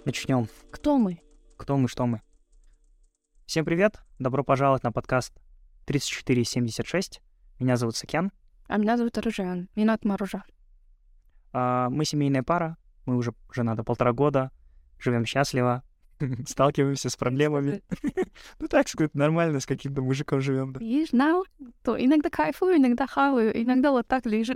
Начнем. Кто мы? Кто мы, что мы. Всем привет, добро пожаловать на подкаст 3476. Меня зовут Сакен. А меня зовут Ружан. Меня зовут Маружа. Мы семейная пара, мы уже женаты 1,5 года, живем счастливо, сталкиваемся с проблемами. Ну так сказать, нормально с каким-то мужиком живем. Видишь, то иногда кайфую, иногда хаваю, иногда вот так лежу.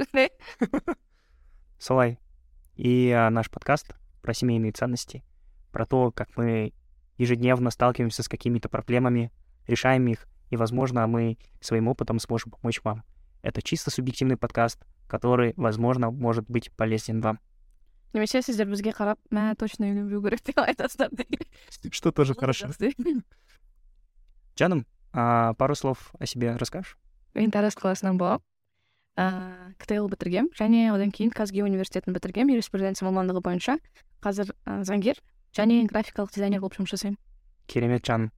Солай. И наш подкаст про семейные ценности, про то, как мы ежедневно сталкиваемся с какими-то проблемами, решаем их, и, возможно, мы своим опытом сможем помочь вам. Это чисто субъективный подкаст, который, возможно, может быть полезен вам. Немесе сіздер бізге қарап, мә точно үйленбеу керек деп айтасыздар. Что тоже хорошо. Жаным, пару слов о себе расскажешь? Мен Тараз қаласынан боламын. КТЛ бітіргем, және одан кейін Казги университетін бітіргем, юриспруденция мамандығы бойынша. Қазір заңгер және графикалық дизайнер болып жұмыс жасаймын. Керемет, Жан.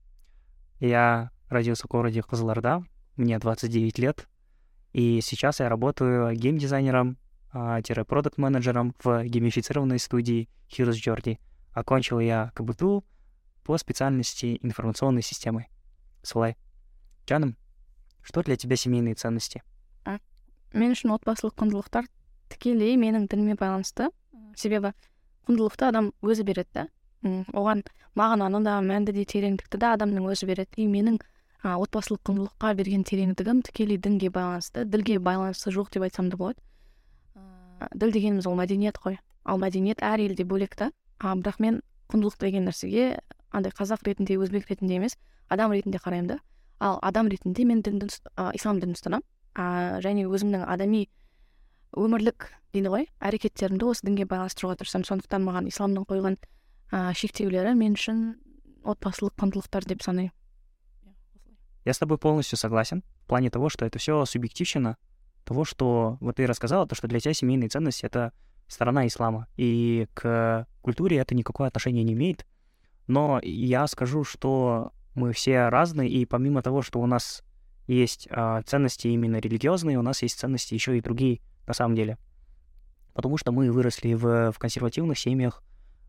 Я родился в городе Кызылорда, мне 29 лет, и сейчас я работаю геймдизайнером, продакт-менеджером в геймифицированной студии Heroes Journey. Окончил я КБТУ по специальности информационной системы. Солай. Жаным, что для тебя семейные ценности? Мен үшін отбасылық құндылықтар тікелей менің дініме байланысты. Себебі құндылықты адам өзі береді да. Оған мағынаны да, мәнді де, тереңдікті да адамның өзі береді. И менің отбасылық құндылыққа берген тереңдігім тікелей дінге байланысты, ділге байланысты жоқ деп айтсам да болады. Діл дегеніміз ол мәдениет қой. Ал мәдениет әр елде бөлек та. Бірақ мен құндылық деген нәрсеге андай қазақ ретінде, өзбек ретінде емес, адам ретінде қараймын да. Ал адам ретінде мен ислам дінін ұстанамын. Және өзімнің адами өмірлік дейді ғой, әрекеттерімді осы дінге байланыстыруға тырысамын. Сондықтан маған исламның қойған шектеулері мен үшін отбасылық құндылықтар деп санаймын. Я с тобой полностью согласен в плане того, что это все субъективщина, того, что вот ты рассказала, то, что для тебя семейные ценности — это сторона ислама, и к культуре это никакое отношение не имеет. Но я скажу, что мы все разные, и помимо того, что у нас есть ценности именно религиозные, у нас есть ценности еще и другие на самом деле. Потому что мы выросли в консервативных семьях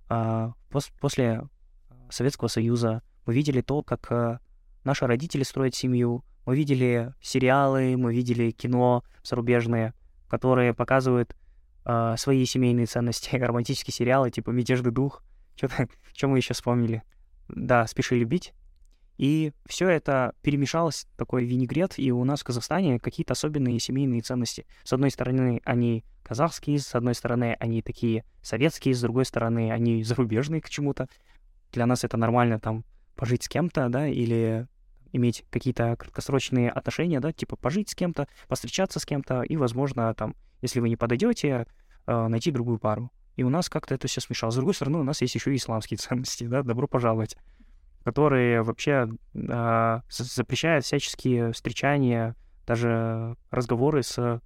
после Советского Союза. Мы видели то, как наши родители строят семью. Мы видели сериалы, мы видели кино зарубежные, которые показывают свои семейные ценности. Романтические сериалы типа «Мятежный дух». Что мы еще вспомнили? Да, «Спеши любить». И все это перемешалось, такой винегрет, и у нас в Казахстане какие-то особенные семейные ценности. С одной стороны, они казахские, с одной стороны, они такие советские, с другой стороны, они зарубежные к чему-то. Для нас это нормально там пожить с кем-то, да, или иметь какие-то краткосрочные отношения, да, типа пожить с кем-то, повстречаться с кем-то, и, возможно, там, если вы не подойдете, найти другую пару. И у нас как-то это все смешалось. С другой стороны, у нас есть еще и исламские ценности, да, добро пожаловать, которые вообще запрещают всяческие встречания, даже разговоры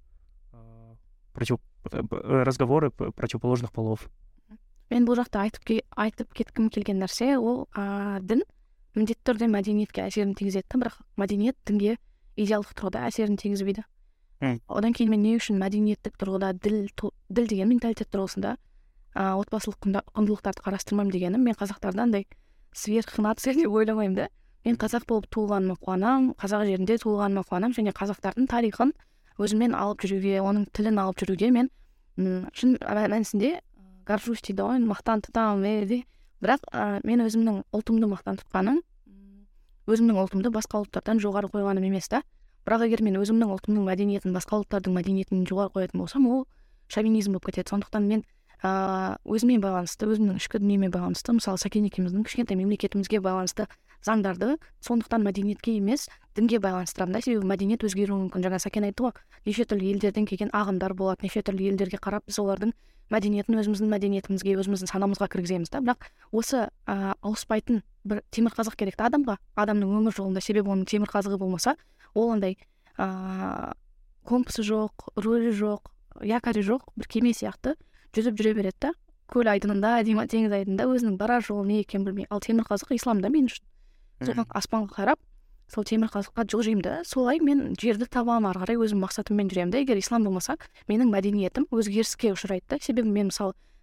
противоположных полов. Мен бұл жақта айтып кеткім келген нәрсе, ол дін міндетті түрде мәдениетке әсерін тигізеді, бірақ мәдениет дінге идеалдық тұрғыда әсерін тигізбейді. Одан кейін мен не үшін мәдениеттік тұрғыда діл деген менталитет тұрғысында отбасылық құндылықтарды қарастырмаймын дегенім, мен қазақтардан андай сверхнация деп ойламаймын да. Мен қазақ болып туылғаныма қуанамын, қазақ жерінде туылғаныма қуанамын, және қазақтардың тарихын өзіммен алып жүруге, оның тілін алып жүруге мен шын мәнісінде горжусь дейді ғой, мақтан тұтамын. Бірақ мен өзімнің ұлтымды мақтан тұтқаным, өзімнің ұлтымды басқа ұлттардан жоғары қойғаным емес та. Бірақ егер мен өзімнің ұлтымның мәдениетін басқа ұлттардың мәдениетін жоғары қоятын болсам, ол шовинизм болып кетеді. Сондықтан мен өзіме байланысты, өзімнің ішкі дүниеме байланысты, мысалы Сәкен екеуміздің кішкентай мемлекетімізге байланысты заңдарды сондықтан мәдениетке емес дінге байланыстырамын да. Себебі мәдениет өзгеруі мүмкін. Жаңа Сәкен айтты ғой, неше түрлі елдерден келген ағымдар болады, неше түрлі елдерге қарап біз олардың мәдениетін өзіміздің мәдениетімізге, өзіміздің санамызға кіргіземіз да. Бірақ осы ауыспайтын бір темір қазық керек та адамға, адамның өмір жолында. Себебі оның темір қазығы болмаса, ол андай компасы жоқ, рөлі жоқ, якоры жоқ, бір кеме сияқты жүзіп жүре береді да. Көл айдынында, теңіз айдынында өзінің барар жолы не екенін білмей. Ал темір қазық исламда мен үшін. Соған аспанға қарап, сол темір қазыққа жылжимын да. Солай мен жерді табамын, ары қарай өзім мақсатыммен жүремін да. Егер ислам болмаса, менің мәдениетім өзгеріске ұшырайды да. Себебі мен мысалы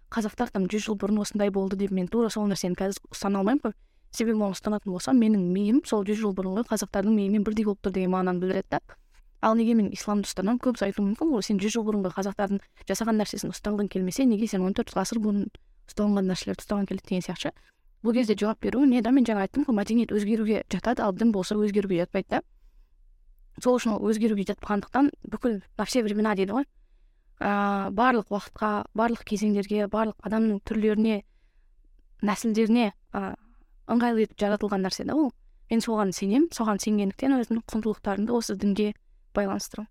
қазақтар там 100 жыл бұрын осындай болды деп мен тура сол нәрсені қазір ұстана алмаймын ғой. Себебі оны ұстанатын болсам, менің миым сол 100 жыл бұрынғы қазақтардың миымен бірдей болып тұр деген мағынаны білдіреді да. Ал неге мен исламды ұстанамын? Көбісі айтуы мүмкін ғой, сен 100 жыл бұрынғы қазақтардың жасаған нәрсесін ұстағың келмесе, неге сен 14 ғасыр бұрын ұсталған нәрселерді ұстаған келеді деген сияқты. Бұл кезде жауап беру не да, мен жаңа айттым ғой, мәдениет өзгеруге жатады, ал дін болса өзгеруге жатпайды да. Сол үшін ол өзгеруге жатпағандықтан бүкіл на все времена дейді ғой. Барлық уақытқа, барлық кезеңдерге, барлық адамның түрлеріне, нәсілдеріне ыңғайлы етіп жаратылған нәрсе да ол. Мен соған сенемін, соған сенгендіктен өзімнің құндылықтарымды осы дінге байланыстырамын.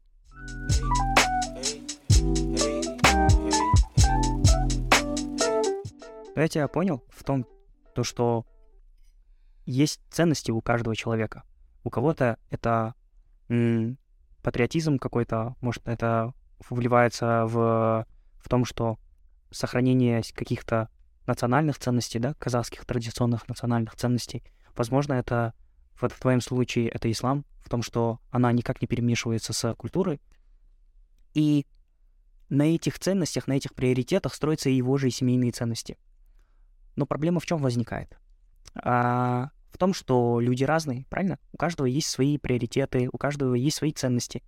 Я тебя понял в том, что есть ценности у каждого человека. У кого-то это патриотизм какой-то, может, это вливается в том, что сохранение каких-то национальных ценностей, да, казахских традиционных национальных ценностей. Возможно, это в твоем случае это ислам, в том, что она никак не перемешивается с культурой. И на этих ценностях, на этих приоритетах строятся его же и семейные ценности. Но проблема в чем возникает? В том, что люди разные, правильно? У каждого есть свои приоритеты, у каждого есть свои ценности.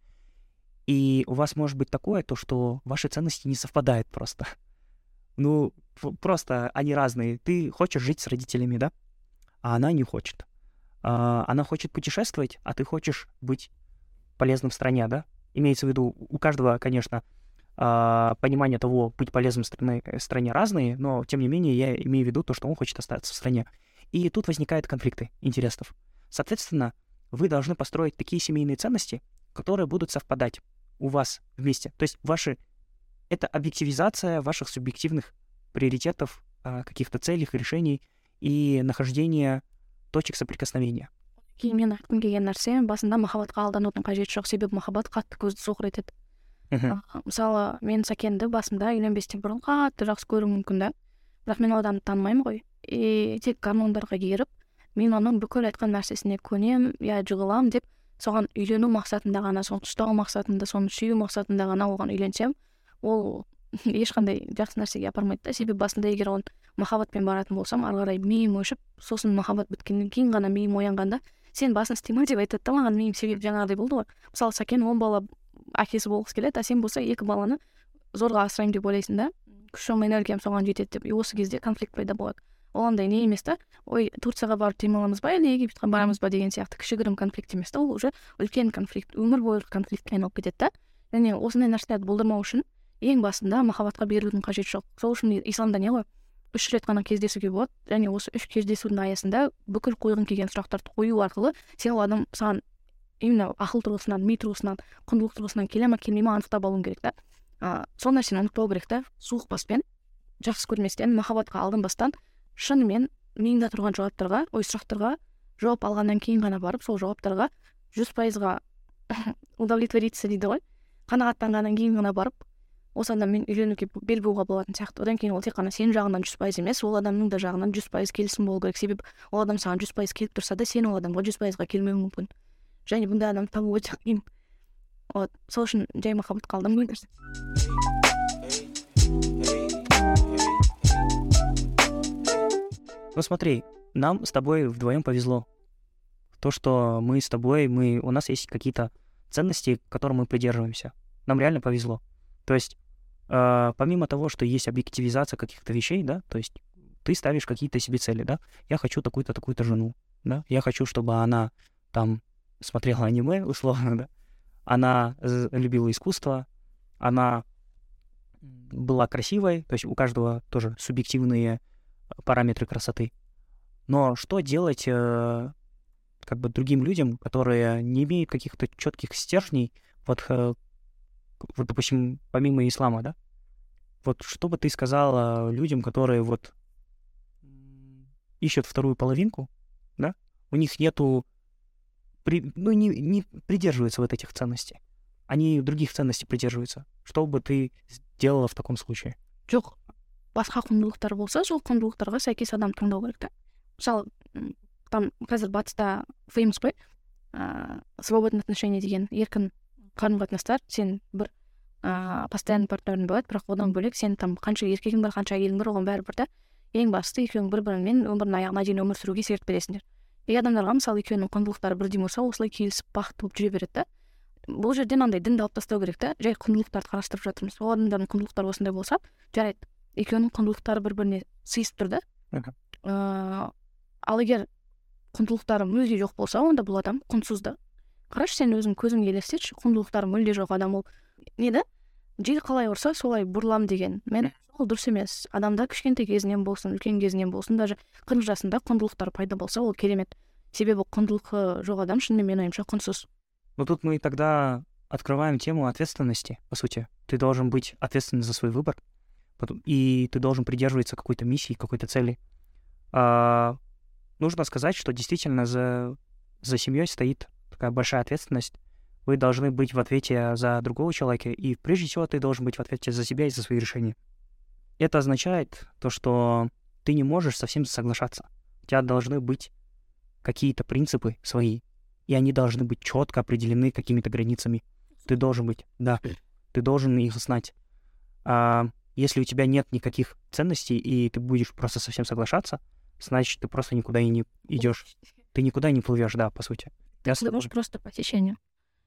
И у вас может быть такое, то, что ваши ценности не совпадают просто. Ну, просто они разные. Ты хочешь жить с родителями, да? А она не хочет. Она хочет путешествовать, а ты хочешь быть полезным в стране, да? Имеется в виду, у каждого, конечно, понимание того, быть полезным в стране разные, но, тем не менее, я имею в виду то, что он хочет остаться в стране. И тут возникают конфликты интересов. Соответственно, вы должны построить такие семейные ценности, которые будут совпадать у вас вместе. То есть это объективизация ваших субъективных приоритетов, каких-то целей, решений и нахождение точек соприкосновения. Кейін мен айтқым келген нәрсе, басында махаббатқа алданудың қажеті жоқ, себебі махаббат қатты көзді соқыр етеді. Мысалы, мен Сәкенді басында үйленбестен бұрын қатты жақсы көруім мүмкін да. Бірақ мен ол адамды танымаймын ғой. Тек гормондарға еріп, мен оның бүкіл айтқан нәрсесіне көнем, я жығылам деп, соған үйлену мақсатында ғана, соны ұстау мақсатында, соны сүю мақсатында ғана оған үйленсем, ол ешқандай жақсы нәрсеге апармайды да. Себебі басында егер оны махаббатпен баратын болсам, ары қарай миым өшіп, сосын махаббат біткеннен кейін ғана миым оянғанда, сен басын істеме деп айтады да маған, миым себеп жаңағыдай болды ғой. Мысалы, Сәкен 10 бала әкесі болғысы келеді, а сен болса 2 баланы зорға асыраймын деп ойлайсың да. Күшім, энергиям соған жетеді деп. Осы кезде конфликт пайда болады. Ол андай не емес та, ой, Турцияға барып демаламыз ба, или Египетке барамыз ба деген сияқты кішігірім конфликт емес та, ол уже үлкен конфликт, өмір бойғы конфликтке айналып кетеді да. Және осындай нәрселерді болдырмау үшін ең басында махаббатқа берілудің қажеті жоқ. Сол үшін исламда не ғой? 3 рет қана кездесуге болады, және осы 3 кездесудің аясында бүкіл қойғың келген сұрақтарды қою арқылы сен ол адам саған именно ақыл тұрғысынан, ми тұрғысынан, құндылық тұрғысынан келе ма келмей ма анықтап алуың керек та. Сол нәрсені анықтау керек та, суық баспен, жақсы көрместен, махаббатқа алданбастан, шынымен миыңда тұрған сұрақтарға жауап алғаннан кейін ғана барып, сол жауаптарға 100%-ға удовлетвориться дейді ғой. Қанағаттанғаннан кейін ғана барып, осы адаммен үйленуге бел буға болатын сияқты. Одан кейін ол тек қана сен жағынан 100% емес, ол адамның да жағынан 100% келісім болу керек. Себебі ол адам саған 100% келіп тұрса да, сен ол адамға 100%-ға келмеуің мүмкін. Және бұндай адам табу өте қиын. Сол үшін жай махаббатқа алданбаңдар. Ну смотри, нам с тобой вдвоем повезло. То, что мы с тобой, у нас есть какие-то ценности, к которым мы придерживаемся. Нам реально повезло. То есть, помимо того, что есть объективизация каких-то вещей, да, то есть ты ставишь какие-то себе цели, да, я хочу такую-то, такую-то жену, да, я хочу, чтобы она там смотрела аниме, условно, да, она любила искусство, она была красивой, то есть у каждого тоже субъективные параметры красоты. Но что делать как бы другим людям, которые не имеют каких-то четких стержней, вот, допустим, помимо ислама, да? Вот что бы ты сказала людям, которые вот ищут вторую половинку, да? У них нету, не придерживаются вот этих ценностей. Они других ценностей придерживаются. Что бы ты сделала в таком случае? Жоқ, басқа құндылықтар болса, сол құндылықтарға сәйкес адам таңдау керек та. Мысалы, там қазір батыста famous қой, свободное отношение деген еркін қарым-қатынастар, сен бір постоянный партнерің болады, бірақ одан бөлек сен там қанша еркегің бар, қанша әйелің бар, оған бәрібір да ең бастысы екеуің бір-біріңмен өмірдің аяғына дейін өмір сүруге серт бересіңдер. Адамдарға мысалы екеуінің құндылықтары бірдей болса, осылай келісіп бақытты болып жүре береді да. Бұл жерден андай дінді алып тастау керек та, жай құндылықтарды қарастырып жатырмыз. Ол адамдардың құндылықтары осындай болса, жарайды, екеуінің құндылықтары бір-біріне сыйысып тұр да. Ал егер құндылықтары мүлде жоқ болса, онда бұл адам құнсыз да. Қарашы, сен өзің көзіңе елестетші, құндылықтары мүлде жоқ адам, ол не да? Жел қалай ұрса, солай бұрылам деген. Мен ол дұрыс емес. Адамда кішкентай кезінен болсын, үлкен кезінен болсын, даже 40 жасында құндылықтар пайда болса, ол керемет. Себебі құндылығы жоқ адам шынымен менің ойымша құнсыз. Но тут мы тогда открываем тему ответственности, по сути. Ты должен быть ответственен за свой выбор, и ты должен придерживаться какой-то миссии, какой-то цели. Нужно сказать, что действительно за семьей стоит такая большая ответственность. Вы должны быть в ответе за другого человека, и прежде всего ты должен быть в ответе за себя и за свои решения. Это означает то, что ты не можешь со всем соглашаться. У тебя должны быть какие-то принципы свои, и они должны быть четко определены какими-то границами. Ты должен быть, да, ты должен их знать. Если у тебя нет никаких ценностей, и ты будешь просто совсем соглашаться, значит, ты просто никуда и не идешь. Ты никуда не плывешь, да, по сути. Ты плывешь просто по течению.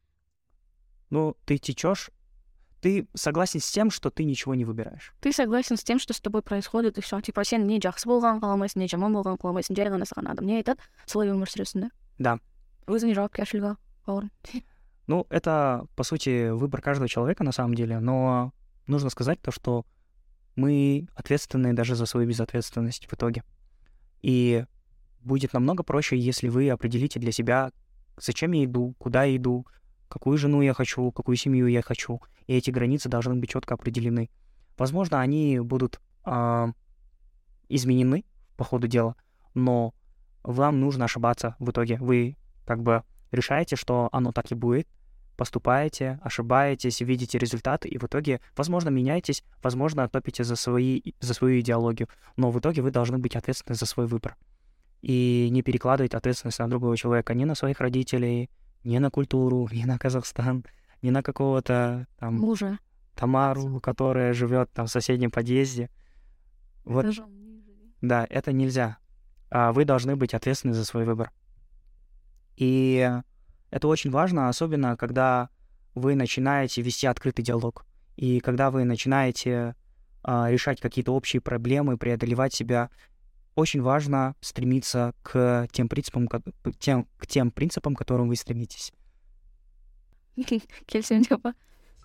Ну, ты течешь, ты согласен с тем, что ты ничего не выбираешь. Ты согласен с тем, что с тобой происходит, и все. Типа, сен не жақсы болған қаламайсың, не жаман болған қаламайсың, жай ғана саған адам не айтады, солай өмір сүресің, да? Да. Өзіңе жауапкершілігі бар. Ну, это, по сути, выбор каждого человека на самом деле, но нужно сказать то, что мы ответственны даже за свою безответственность в итоге. И будет намного проще, если вы определите для себя, зачем я иду, куда я иду, какую жену я хочу, какую семью я хочу. И эти границы должны быть четко определены. Возможно, они будут изменены по ходу дела, но вам нужно ошибаться в итоге. Вы как бы решаете, что оно так и будет, поступаете, ошибаетесь, видите результаты, и в итоге, возможно, меняетесь, возможно, топите за свою идеологию, но в итоге вы должны быть ответственны за свой выбор. И не перекладывать ответственность на другого человека, ни на своих родителей, ни на культуру, ни на Казахстан, ни на какого-то там мужа, Тамару, которая живет там в соседнем подъезде. Вот. Да, это нельзя. Вы должны быть ответственны за свой выбор. И это очень важно, особенно когда вы начинаете вести открытый диалог. И когда вы начинаете решать какие-то общие проблемы, преодолевать себя, очень важно стремиться к тем принципам, к тем принципам, к которым вы стремитесь. Келісемін деп па?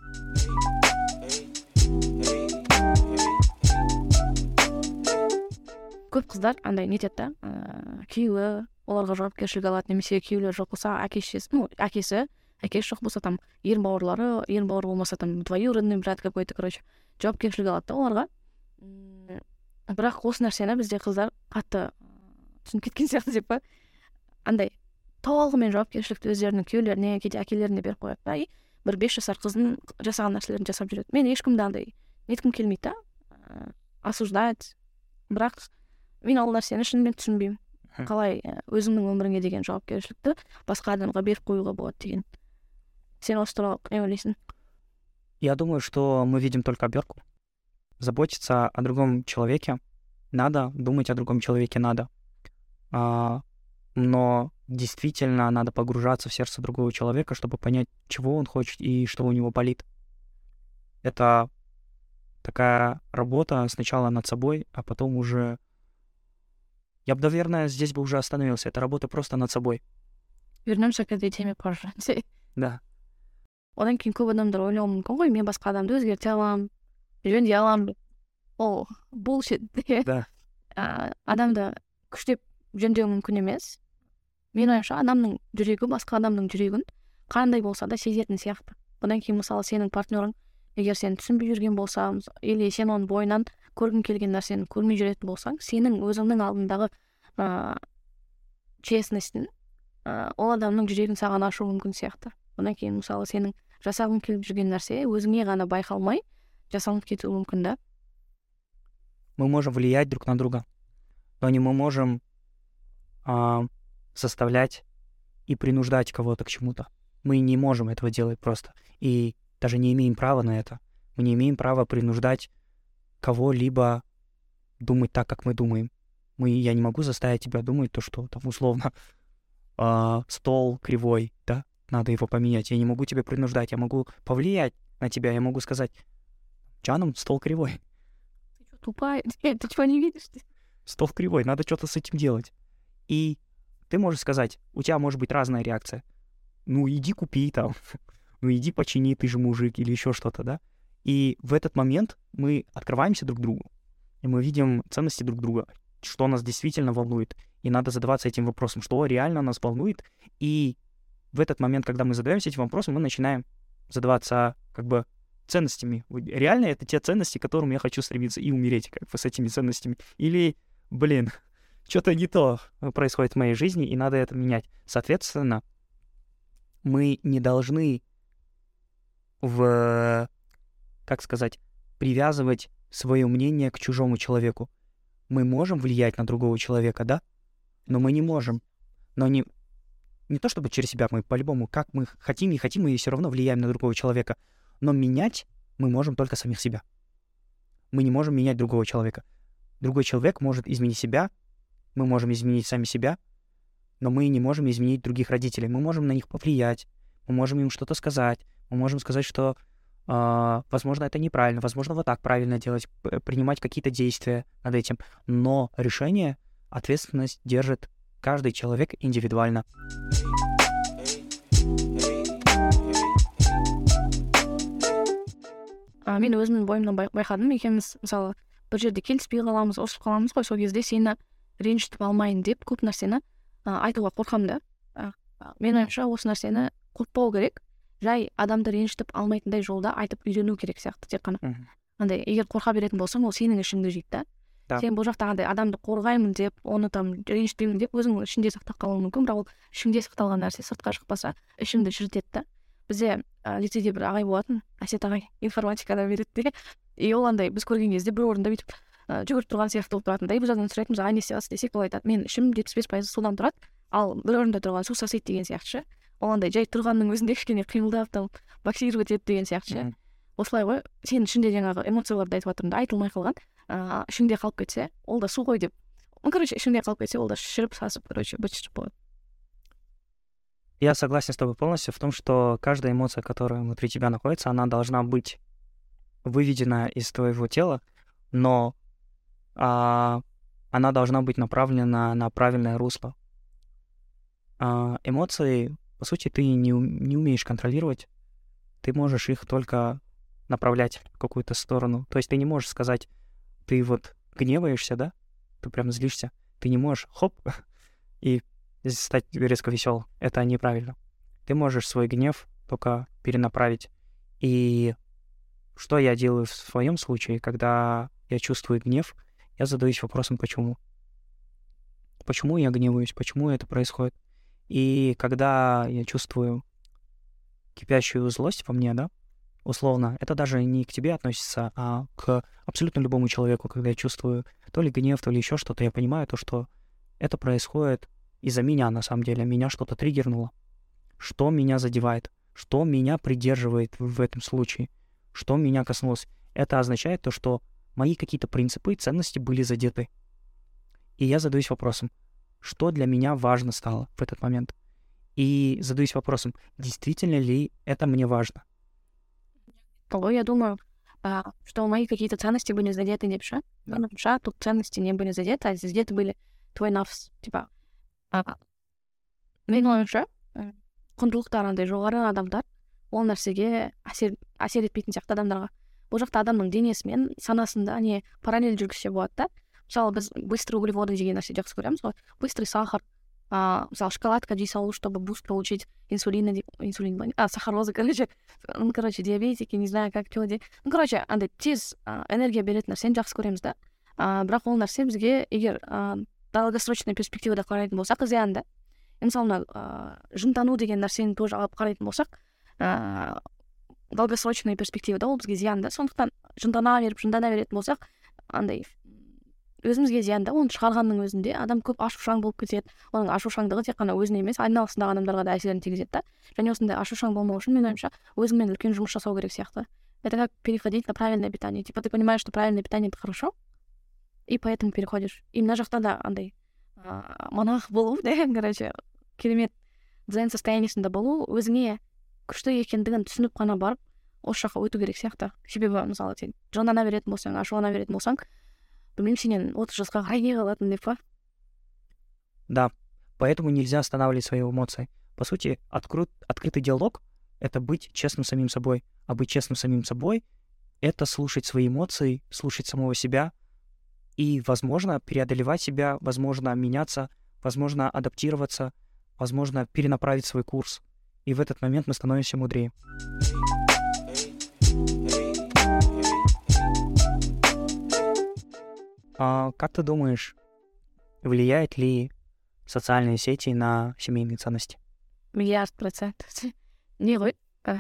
Көп қыздар андай нетеді да, күйеуі оларға жауапкершілік алады, немесе күйеулері жоқ болса, әкесі жоқ болса, там ер бауыр болмаса, там двоюродный брат какой-то, короче, жауапкершілік алады да оларға. Бірақ осы нәрсені бізде қыздар қатты түсініп кеткен сияқты деп па, андай толығымен жауапкершілікті өздерінің күйеулеріне, кейде әкелеріне беріп қояды да, бір 5 жасар қыздың жасаған нәрселерін жасап жүреді. Мен ешкімді андай неткім келмейді да, осуждать, бірақ мен ол нәрсені шынымен түсінбеймін. Қалай өзіңнің өміріңе деген жауапкершілікті басқа адамға беріп қоюға болады деген. Сен осы туралы не ойлайсың? Я думаю, что мы видим только обертку. Заботиться о другом человеке надо, думать о другом человеке надо. Но действительно надо погружаться в сердце другого человека, чтобы понять, чего он хочет и что у него болит. Это такая работа сначала над собой, а потом уже... Я бы, наверное, здесь бы уже остановился. Это работа просто над собой. Вернемся к этой теме позже. Да. Одан кейін көп адамдар ойлауы мүмкін ғой, мен басқа адамды өзгерте аламын, жөндей аламын. Ол bullshit. Да. Адамды күштеп жөндеу мүмкін емес. Мен ойымша адамның жүрегі басқа адамның жүрегін қандай болса да сезетін сияқты. Одан кейін мысалы сенің партнерың егер сен түсінбей жүрген болса, или сен оның бойынан көргің келген нәрсені көрмей жүретін болсаң, сенің өзіңнің алдындағы честностьтің ол адамның жүрегін саған ашу мүмкін сияқты. Одан кейін мысалы сенің жасағың келіп жүрген нәрсе өзіңе ғана байқалмай жасалынып кетуі мүмкін да. Мы можем влиять друг на друга, но не мы можем заставлять и принуждать кого-то к чему-то. Мы не можем этого делать просто. И даже не имеем права на это. Мы не имеем права принуждать кого-либо думать так, как мы думаем. Я не могу заставить тебя думать то, что там условно стол кривой, да, надо его поменять. Я не могу тебя принуждать, я могу повлиять на тебя, я могу сказать: Джаном, стол кривой. Ты что, тупая? Ты чего не видишь? Стол кривой, надо что-то с этим делать. И ты можешь сказать, у тебя может быть разная реакция. Ну, иди купи там, ну, иди почини, ты же мужик, или еще что-то, да? И в этот момент мы открываемся друг другу, и мы видим ценности друг друга, что нас действительно волнует, и надо задаваться этим вопросом, что реально нас волнует, и в этот момент, когда мы задаемся этим вопросом, мы начинаем задаваться как бы ценностями. Реально это те ценности, к которым я хочу стремиться и умереть как бы с этими ценностями. Или, что-то не то происходит в моей жизни, и надо это менять. Соответственно, мы не должны привязывать свое мнение к чужому человеку. Мы можем влиять на другого человека, да? Но мы не можем. Но не то чтобы через себя, мы по-любому, как мы хотим, не хотим, мы все равно влияем на другого человека. Но менять мы можем только самих себя. Мы не можем менять другого человека. Другой человек может изменить себя, мы можем изменить сами себя, но мы не можем изменить других родителей. Мы можем на них повлиять, мы можем им что-то сказать, мы можем сказать, что, возможно, это неправильно, возможно, вот так правильно делать, принимать какие-то действия над этим. Но решение, ответственность держит каждый человек индивидуально. Мен өзімнің бойымнан байқадым, екеуміз мысалы бір жерде келіспей қаламыз, ұрысып қаламыз ғой, сол кезде сені ренжітіп алмайын деп көп нәрсені айтуға қорқамын да. Менің ойымша осы нәрсені қорықпау керек, жай адамды ренжітіп алмайтындай жолда айтып үйрену керек сияқты тек қана. Андай егер қорқа беретін болсаң, ол сенің ішіңді жейді да. Сен бұл жақта андай адамды қорғаймын деп, оны там ренжітпеймін деп өзің ішіңде сақтап қалуың мүмкін, бірақ ол ішіңде сақталған нәрсе сыртқа шықпаса ішіңді шірітеді да. Бізде лицейде бір ағай болатын, Әсет ағай, информатикада береді де, и ол андай біз көрген кезде бір орында бүйтіп жүгіріп тұрған сияқты болып тұратын да, біз одан сұрайтынбыз, не істейсіз десек, ол айтады, мен ішім 75% судан тұрады, ал бір орында тұрған су сасиды деген сияқты ше. Ол андай жай тұрғанның өзінде кішкене қимылдап там боксировать етеді деген сияқты ше. Осылай ғой, сенің ішінде жаңағы эмоцияларды айтып жатырмын да, айтылмай қалған, ішіңде қалып кетсе, ол да су ғой деп. Ішіңде қалып кетсе, ол да шіріп сасып, быт-шыт болады. Я согласен с тобой полностью в том, что каждая эмоция, которая внутри тебя находится, она должна быть выведена из твоего тела, но она должна быть направлена на правильное русло. Эмоции, по сути, ты не умеешь контролировать, ты можешь их только направлять в какую-то сторону. То есть ты не можешь сказать, ты вот гневаешься, да, ты прям злишься, ты не можешь, хоп, и стать резко веселым. Это неправильно. Ты можешь свой гнев только перенаправить. И что я делаю в своем случае, когда я чувствую гнев, я задаюсь вопросом, почему. Почему я гневаюсь, почему это происходит. И когда я чувствую кипящую злость во мне, да, условно, это даже не к тебе относится, а к абсолютно любому человеку. Когда я чувствую то ли гнев, то ли еще что-то, я понимаю то, что это происходит из-за меня, на самом деле. Меня что-то триггернуло. Что меня задевает? Что меня придерживает в этом случае? Что меня коснулось? Это означает то, что мои какие-то принципы и ценности были задеты. И я задаюсь вопросом, что для меня важно стало в этот момент? И задаюсь вопросом, действительно ли это мне важно? Я думаю, что мои какие-то ценности были задеты не пша. Да. Тут ценности не были задеты, а задеты были твой нафс, типа. Мен ойымша, құндылықтар андай жоғары адамдар ол нәрсеге әсер етпейтін сияқты адамдарға. Бұл жақта адамның денесімен санасында не параллель жүргізсе болады да. Мысалы, біз быстрый углеводы деген нәрсе жақсы көреміз ғой. Быстрый сахар, мысалы, шоколадка жей салу, чтобы буст получить сахарозы, диабетики, не знаю, как что. Андай тез энергия беретін нәрсені жақсы көреміз да. Бірақ ол нәрсе бізге егер долгосрочный перспективада қарайтын болсақ, зиян да. Мысалы, жынтану деген нәрсені тоже алып қарайтын болсақ, долгосрочный перспективада ол бізге зиян да. Сондықтан жындана беретін болсақ, андай өзімізге зиян да. Оны шығарғанның өзінде адам көп ашушаң болып кетеді. Оның ашушаңдығы тек қана өзіне емес, айналасындағы адамдарға да әсерін тигізеді да. Және осындай ашушаң болмау үшін, мен ойымша, өзіңмен үлкен жұмыс жасау керек сияқты. Это как переходить на правильное питание. Типа ты понимаешь, что правильное питание — это хорошо, и поэтому переходишь. И мына жақта да андай монах болу, да, короче, керемет дзен состояниесінде болу, өзіңе күшті екендігін түсініп қана барып, осы жаққа өту керек сияқты. Себебі, мысалы, сен жандана беретін болсаң, ашулана беретін болсаң, білмеймін, сенен 30 жасқа қарай не қалатын деп па? Да, поэтому нельзя останавливать свои эмоции. По сути, открытый диалог — это быть честным самим собой. А быть честным самим собой — это слушать свои эмоции, слушать самого себя и, возможно, преодолевать себя, возможно, меняться, возможно, адаптироваться, возможно, перенаправить свой курс. И в этот момент мы становимся мудрее. Как ты думаешь, влияет ли социальные сети на семейные ценности? 100%. Не ғой?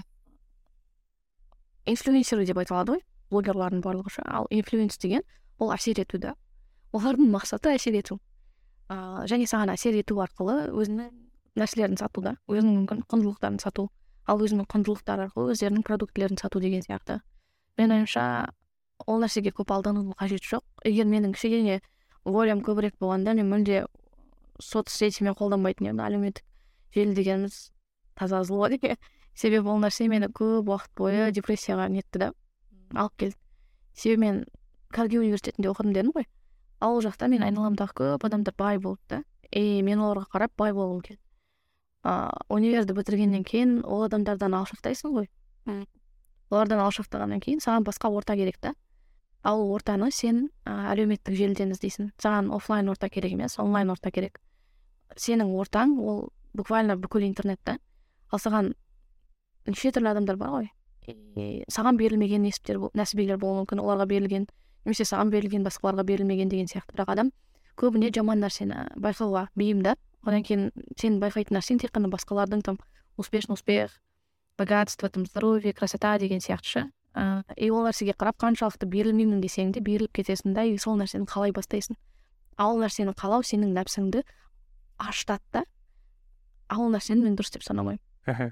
Инфлюенсер деп айтылады ғой, блогерлардың барлығы ше. Ал инфлюенс деген ол әсер ету да. Олардың мақсаты әсер ету. Және саған әсер ету арқылы өзінің нәрселерін сату да, өзінің құндылықтарын сату. Ал өзінің құндылықтары арқылы өздерінің продуктілерін сату деген сияқты. Мен ойымша, ол нәрсеге көп алданудың қажеті жоқ. Егер менің кішкене волям көбірек болғанда, мен мүлде соцсетімен қолданбайтын едім. Әлеуметтік желі дегеніміз таза зло деген. Себебі ол нәрсе мені көп уақыт бойы депрессияға нетті да, алып келді. Себебі мен Карги университетінде оқыдым дедім ғой. Ал ол жақта мен айналамдағы көп адамдар бай болды да. Мен оларға қарап бай болғым келді. Универді бітіргеннен кейін ол адамдардан алшақтайсың ғой. Олардан алшақтағаннан кейін саған басқа орта керек та. Ал ортаны сен әлеуметтік желіден іздейсің. Саған офлайн орта керек емес, онлайн орта керек. Сенің ортаң ол буквально бүкіл интернетте. Ал саған неше түрлі адамдар бар ғой. Саған берілмеген нәсібелер болуы мүмкін, оларға берілген, немесе саған берілген, басқаларға берілмеген деген сияқты. Бірақ адам көбіне жаман нәрсені байқауға бейімді. Одан кейін сен байқайтын нәрсең тек қана басқалардың там успешный успех, богатство, там здоровье, красота деген сияқты. И ол нәрсеге қарап қаншалықты берілмеймін десең де беріліп кетесің да, и сол нәрсені қалай бастайсың. Ал нәрсені қалау сенің нәпсіңді аштады да. Ал нәрсені мен дұрыс деп санамаймын.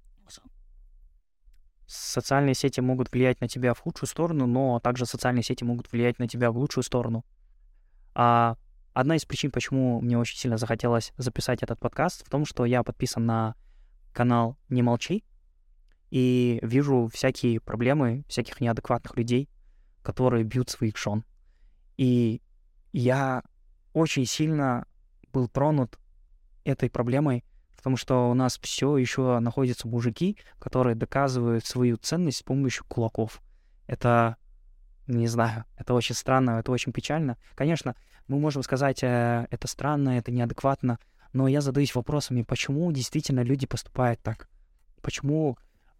Социальные сети могут влиять на тебя в худшую сторону, но также социальные сети могут влиять на тебя в лучшую сторону. Одна из причин, почему мне очень сильно захотелось записать этот подкаст, в том, что я подписан на канал «Не молчи» и вижу всякие проблемы, всяких неадекватных людей, которые бьют своих жен. И я очень сильно был тронут этой проблемой, потому что у нас все еще находятся мужики, которые доказывают свою ценность с помощью кулаков. Это, не знаю, это очень странно, это очень печально. Конечно, мы можем сказать, это странно, это неадекватно, но я задаюсь вопросами, почему действительно люди поступают так? Почему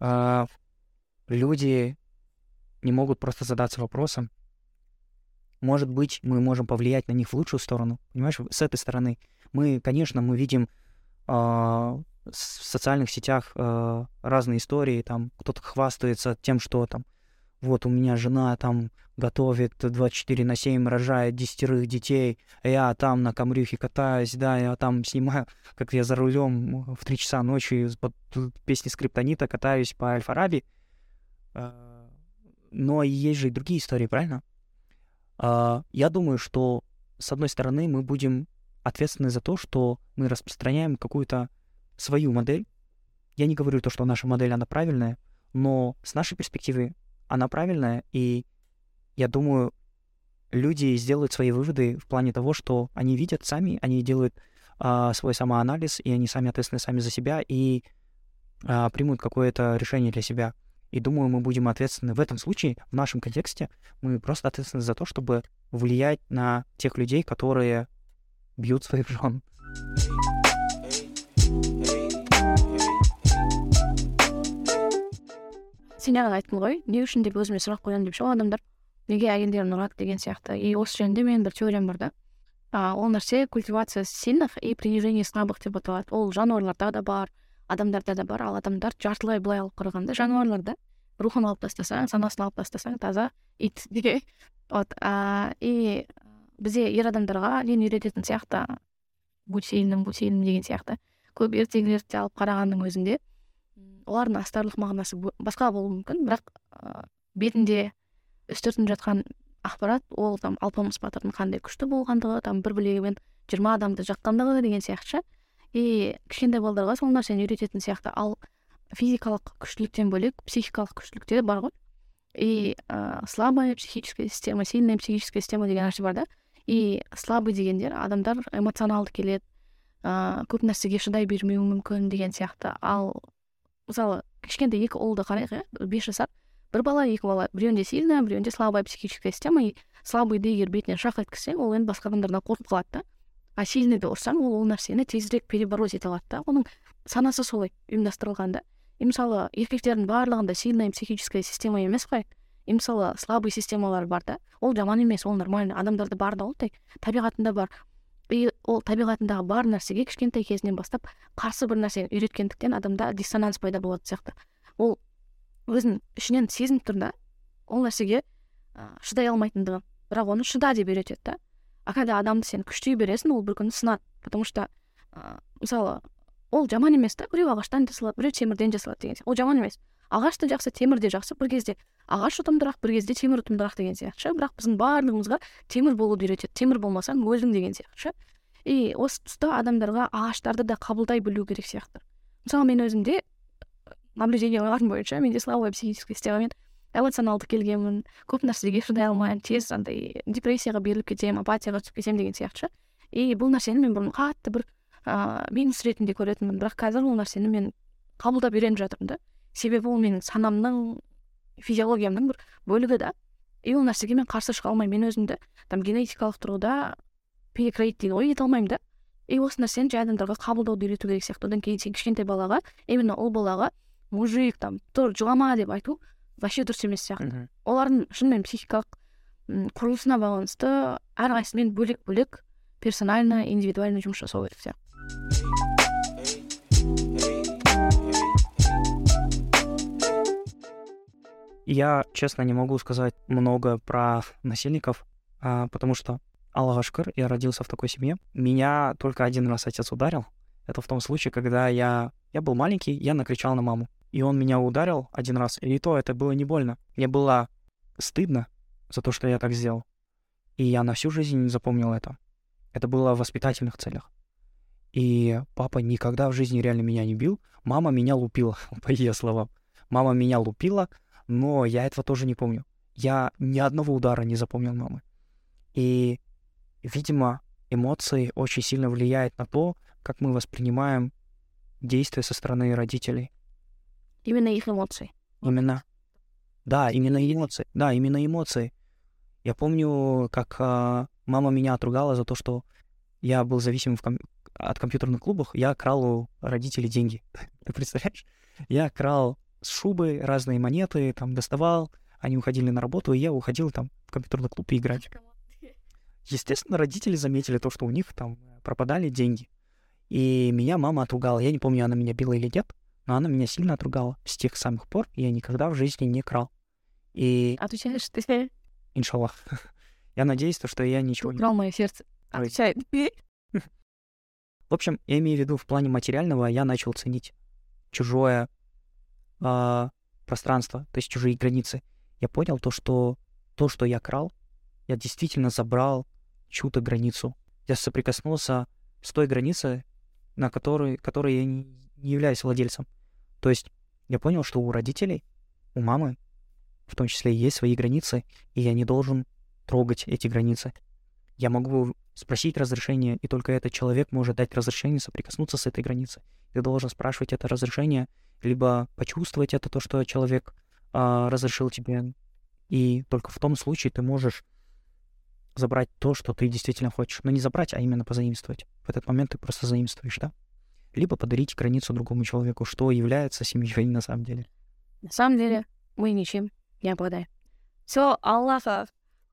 люди не могут просто задаться вопросом? Может быть, мы можем повлиять на них в лучшую сторону, понимаешь, с этой стороны. Конечно, мы видим в социальных сетях разные истории, там кто-то хвастается тем, что там вот у меня жена там готовит 24/7, рожает 10 детей, а я там на камрюхе катаюсь, да, я там снимаю, как я за рулем в 3 часа ночи под песни Скриптонита катаюсь по Аль-Фараби. Но есть же и другие истории, правильно? Я думаю, что с одной стороны мы будем ответственны за то, что мы распространяем какую-то свою модель. Я не говорю то, что наша модель, она правильная, но с нашей перспективы она правильная, и я думаю, люди сделают свои выводы в плане того, что они видят сами, они делают свой самоанализ, и они сами ответственны сами за себя, и примут какое-то решение для себя. И думаю, мы будем ответственны в этом случае, в нашем контексте, мы просто ответственны за то, чтобы влиять на тех людей, которые бьют своих жен. Сен жаңа айттың ғой, не үшін деп өзіме сұрақ қоямын деп ше адамдар, неге әйелдерін ұрады деген сияқты. И осы жөнінде менің бір теориям бар да. Ол нәрсе культивация сильных и принижение слабых деп аталады. Ол жануарларда да бар, адамдарда да бар, ал адамдар жартылай былай алып қарағанда жануарларда рухын алып тастасаң, санасын алып тастасаң, таза ит деген. И бізде ер адамдарға нені үйрететін сияқты, будь сильным деген сияқты. Көп ертегілерді алып қарағанның өзінде олардың астарлық мағынасы басқа болуы мүмкін, бірақ бетінде үстіртін жатқан ақпарат, ол там Алпамыс батырдың қандай күшті болғандығы, там бір білегімен 20 адамды жаққандығы деген сияқты. И кішкентай балдарға сол нәрсені үйрететін сияқты. Ал физикалық күштіліктен бөлек психикалық күштілік те бар ғой. И слабая психическая система, сильная психическая система деген нәрсе бар да. И слабый дегендер адамдар эмоционалды келеді, көп нәрсеге шыдай бермеуі мүмкін деген сияқты. Ал мысалы кішкентай екі ұлды қарайық, 5 жасар бір бала, екі бала, біреуінде сильная, біреуінде слабая психическая система. И слабыйды егер бетіне шақ еткізсең, ол енді басқа адамдардан қорқып қалады да. А сильныйды ұрсаң, ол нәрсені тезірек перебороть ете алады да. Оның санасы солай ұйымдастырылған да. И мысалы еркектердің барлығында сильная психическая система емес қой. И мысалы слабый системалар бар да. Ол жаман емес, ол нормально. Адамдарда бар да, ол табиғатында бар. И ол табиғатындағы бар нәрсеге кішкентай кезінен бастап қарсы бір нәрсені үйреткендіктен адамда диссонанс пайда болады сияқты. Ол өзін ішінен сезініп тұр да, ол нәрсеге шыдай алмайтындығын, бірақ оны шыда деп үйретеді да. А когда адамды сен күштей бересің, ол бір күні сынады. Потому что мысалы ол жаман емес та, біреу ағаштан жасалады, біреу темірден жасалады деген сияқты. Ол жаман емес. Ағаш та жақсы, темір де жақсы. Бір кезде ағаш ұтымдырақ, бір кезде темір ұтымдырақ деген сияқты. Бірақ біздің барлығымызға темір болуды үйретеді. Темір болмасаң өлдің деген сияқты. И осы тұста адамдарға ағаштарды да қабылдай білу керек сияқты. Мысалы мен өзімде наблюденияларым бойынша менде слабая психическая системамен эмоционалды келгенмін, көп нәрсеге шыдай алмаймын, тез андай депрессияға беріліп кетемін, апатияға түсіп кетемін деген сияқты. И бұл нәрсені мен бұрын қатты бір минус ретінде көретінмін, бірақ қазір ол нәрсені мен қабылдап үйреніп жатырмын да. Себебі ол менің санамның, физиологиямның бір бөлігі да. И ол нәрсеге мен қарсы шыға алмаймын. Мен өзімді там генетикалық тұрғыда перекроить дейді ғой, ете алмаймын да. И осы нәрсені жай адамдарға қабылдауды үйрету керек сияқты. Одан кейін сен кішкентай балаға, именно ол балаға мужик там тұр, жылама деп айту вообще дұрыс емес сияқты. Олардың шынымен психикалық құрылысына байланысты әрқайсысымен бөлек-бөлек персонально, индивидуально жұмыс жасау керек сияқты. Я, честно, не могу сказать много про насильников, потому что, Аллаху шүкір, я родился в такой семье. Меня только один раз отец ударил. Это в том случае, когда я был маленький, я накричал на маму. И он меня ударил один раз, и то это было не больно. Мне было стыдно за то, что я так сделал. И я на всю жизнь запомнил это. Это было в воспитательных целях. И папа никогда в жизни реально меня не бил. Мама меня лупила, по ее словам. Мама меня лупила, но я этого тоже не помню. Я ни одного удара не запомнил мамы. И, видимо, эмоции очень сильно влияют на то, как мы воспринимаем действия со стороны родителей. Именно их эмоции. Именно. Да, именно эмоции. Да, именно эмоции. Я помню, как мама меня отругала за то, что я был зависим от компьютерных клубов. Я крал у родителей деньги. Ты представляешь? Я крал с шубы разные монеты, там доставал. Они уходили на работу, и я уходил там в компьютерный клуб и играть. Естественно, родители заметили то, что у них там пропадали деньги. И меня мама отругала. Я не помню, она меня била или нет, но она меня сильно отругала. С тех самых пор я никогда в жизни не крал. И... Отвечаешь ты? Иншаллах. Я надеюсь, что я ничего не... Украл мое сердце. Отвечай. В общем, я имею в виду, в плане материального я начал ценить чужое пространство, то есть чужие границы. Я понял то, что я крал, я действительно забрал чью-то границу. Я соприкоснулся с той границей, на которой я не являюсь владельцем. То есть я понял, что у родителей, у мамы, в том числе, есть свои границы, и я не должен трогать эти границы. Я могу спросить разрешение, и только этот человек может дать разрешение соприкоснуться с этой границей. Ты должен спрашивать это разрешение, либо почувствовать это, то, что человек разрешил тебе. И только в том случае ты можешь забрать то, что ты действительно хочешь. Но не забрать, а именно позаимствовать. В этот момент ты просто заимствуешь, да? Либо подарить границу другому человеку, что является семьей на самом деле. На самом деле мы ничем не обладаем. Все, Аллаха.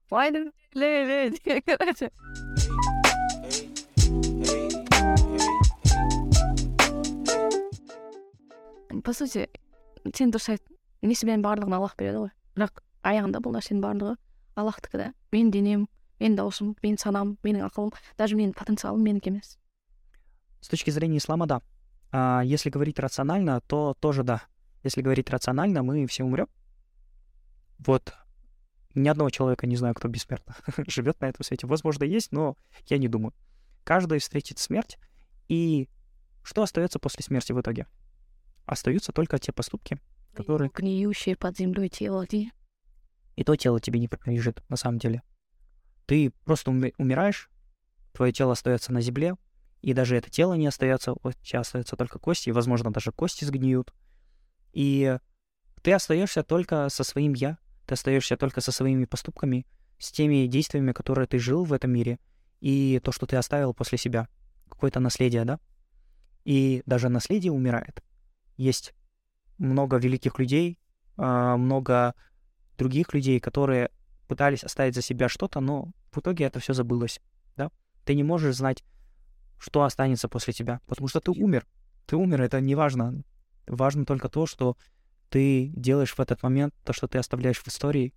По сути, сен дұрыс айттың. Несібен барлығын Аллах береді ғой. Бірақ аяғында бұл нәрсенің барлығы Аллахтікі да. Менің денем, менің даусым, менің санам, менің ақылым, даже менің потенциалым менікі емес. С точки зрения ислама, да. Если говорить рационально, то тоже да. Если говорить рационально, мы все умрем. Вот ни одного человека не знаю, кто бессмертно живет на этом свете. Возможно, есть, но я не думаю. Каждый встретит смерть, и что остается после смерти в итоге? Остаются только те поступки, которые... Гниющие под землей тело. И то тело тебе не принадлежит, на самом деле. Ты просто умираешь, твое тело остается на земле, и даже это тело не остается, у тебя остаются только кости, и, возможно, даже кости сгниют. И ты остаешься только со своим «я», ты остаешься только со своими поступками, с теми действиями, которые ты жил в этом мире, и то, что ты оставил после себя. Какое-то наследие, да? И даже наследие умирает. Есть много великих людей, много других людей, которые пытались оставить за себя что-то, но в итоге это все забылось, да? Ты не можешь знать, что останется после тебя, потому что ты умер. Ты умер, это не важно. Важно только то, что ты делаешь в этот момент, то, что ты оставляешь в истории,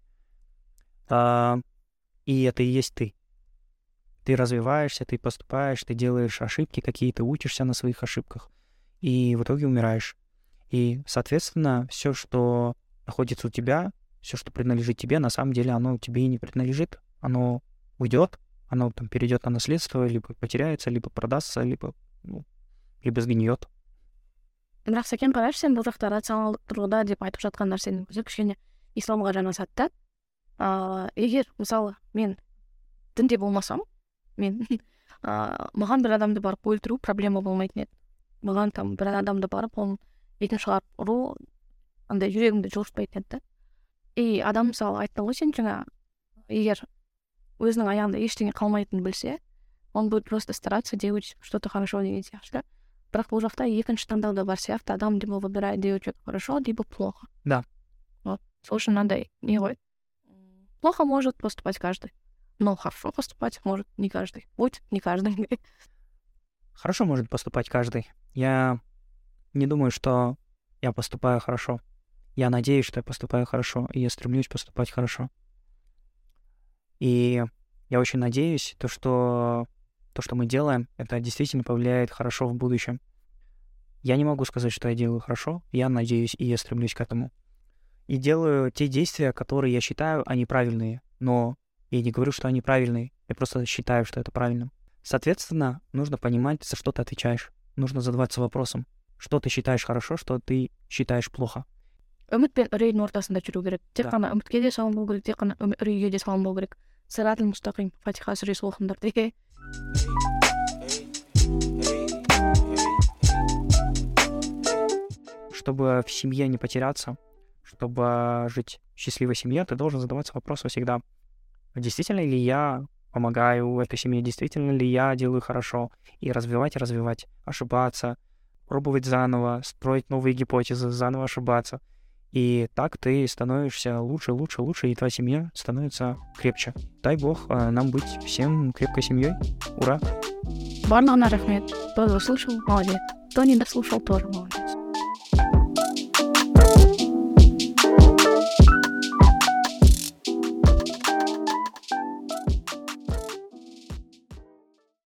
и это и есть ты. Ты развиваешься, ты поступаешь, ты делаешь ошибки какие-то, учишься на своих ошибках, и в итоге умираешь. И, соответственно, все, что находится у тебя, все, что принадлежит тебе, на самом деле оно тебе и не принадлежит. Оно уйдет, оно там перейдет на наследство, либо потеряется, либо продастся, либо сгниет. Бірақ сәкен қарашы, сен бұл жақта рационалдық тұрғыда деп айтып жатқан нәрсенің өзі кішкене исламға жанасады да. Егер мысалы мен дінде болмасам, маған бір адамды барып өлтіру проблема болмайтын еді. Маған там бір адамды барып оның бетін шығарып ұру андай жүрегімді жылытпайтын еді да. И адам мысалы айтты ғой, сен жаңа егер өзінің аяғында ештеңе қалмайтынын білсе, он будет просто стараться делать что-то хорошо деген сияқты. Бірақ бұл жақта екінші таңдау да бар сияқты, адам либо выбирает делать что-то хорошо, либо плохо. Да. Вот. Слушай, надо не ғой. Плохо может поступать каждый, но хорошо поступать может не каждый. Будет не каждый. Хорошо может поступать каждый. Я не думаю, что я поступаю хорошо. Я надеюсь, что я поступаю хорошо, и я стремлюсь поступать хорошо. И я очень надеюсь, что мы делаем, это действительно повлияет хорошо в будущем. Я не могу сказать, что я делаю хорошо, я надеюсь, и я стремлюсь к этому. И делаю те действия, которые я считаю, они правильные, но я не говорю, что они правильные, я просто считаю, что это правильно. Соответственно, нужно понимать, за что ты отвечаешь. Нужно задаваться вопросом, что ты считаешь хорошо, что ты считаешь плохо. Үміт пен үрейдің ортасында жүру керек. Тек қана үмітке де салынбау керек, тек қана үрейге де салынбау керек. Сиратул мустақим, Фатиха сүресі оқыңдар деген. Чтобы в семье не потеряться, чтобы жить в счастливой семье, ты должен задаваться вопросом всегда, действительно ли я помогаю этой семье, действительно ли я делаю хорошо, и развивать, ошибаться, пробовать заново, строить новые гипотезы, заново ошибаться. И так ты становишься лучше, и твоя семья становится крепче. Дай Бог нам быть всем крепкой семьей. Ура! Барлығына рахмет. Кто дослушал, молодец. Кто не дослушал, тоже молодец.